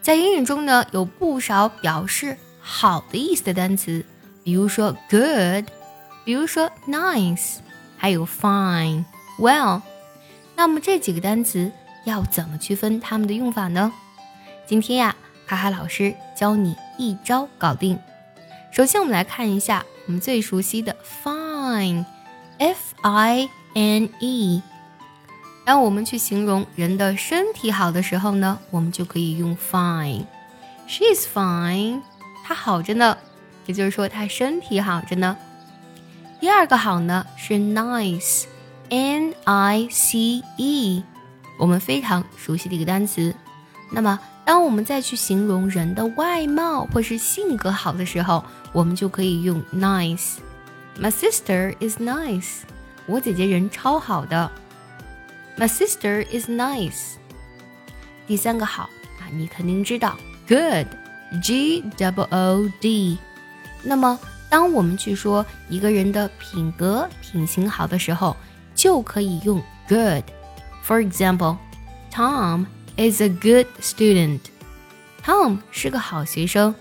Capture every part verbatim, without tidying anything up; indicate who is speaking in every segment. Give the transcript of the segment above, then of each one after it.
Speaker 1: 在英语中呢，有不少表示好的意思的单词，比如说 good， 比如说 nice， 还有 fine、well。那么这几个单词要怎么区分它们的用法呢？今天呀，卡卡老师教你一招搞定。首先我们来看一下我们最熟悉的 fine， F I N E。当我们去形容人的身体好的时候呢，我们就可以用 fine。 She's fine， 她好着呢，也就是说她身体好着呢。第二个好呢是 nice， N I C E， 我们非常熟悉的一个单词。那么当我们再去形容人的外貌或是性格好的时候，我们就可以用 nice。 My sister is nice， 我姐姐人超好的。My sister is nice。 第三个好啊，你肯定知道 good， G O O D。 那么当我们去说一个人的品格品行好的时候，就可以用 good。 For example， Tom is a good student。 Tom 是个好学生。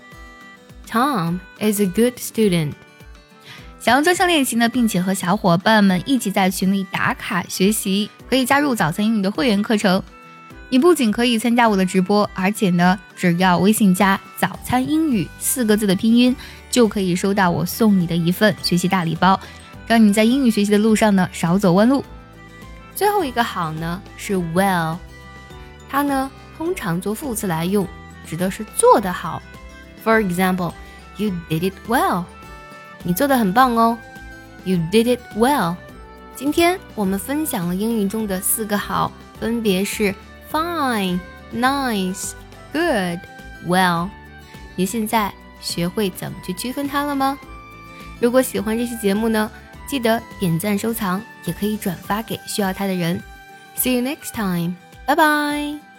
Speaker 1: Tom is a good student。
Speaker 2: 想要专项练习呢，并且和小伙伴们一起在群里打卡学习，可以加入早餐英语的会员课程。你不仅可以参加我的直播，而且呢，只要微信加早餐英语四个字的拼音，就可以收到我送你的一份学习大礼包，让你在英语学习的路上呢少走弯路。
Speaker 1: 最后一个好呢是 well， 它呢通常做副词来用，指的是做得好。 For example， You did it well，你做得很棒哦 You did it well。 今天我们分享了英语中的四个好，分别是 fine、 nice、 good、 well。 你现在学会怎么去区分它了吗？如果喜欢这期节目呢，记得点赞收藏，也可以转发给需要它的人。See you next time， 拜拜。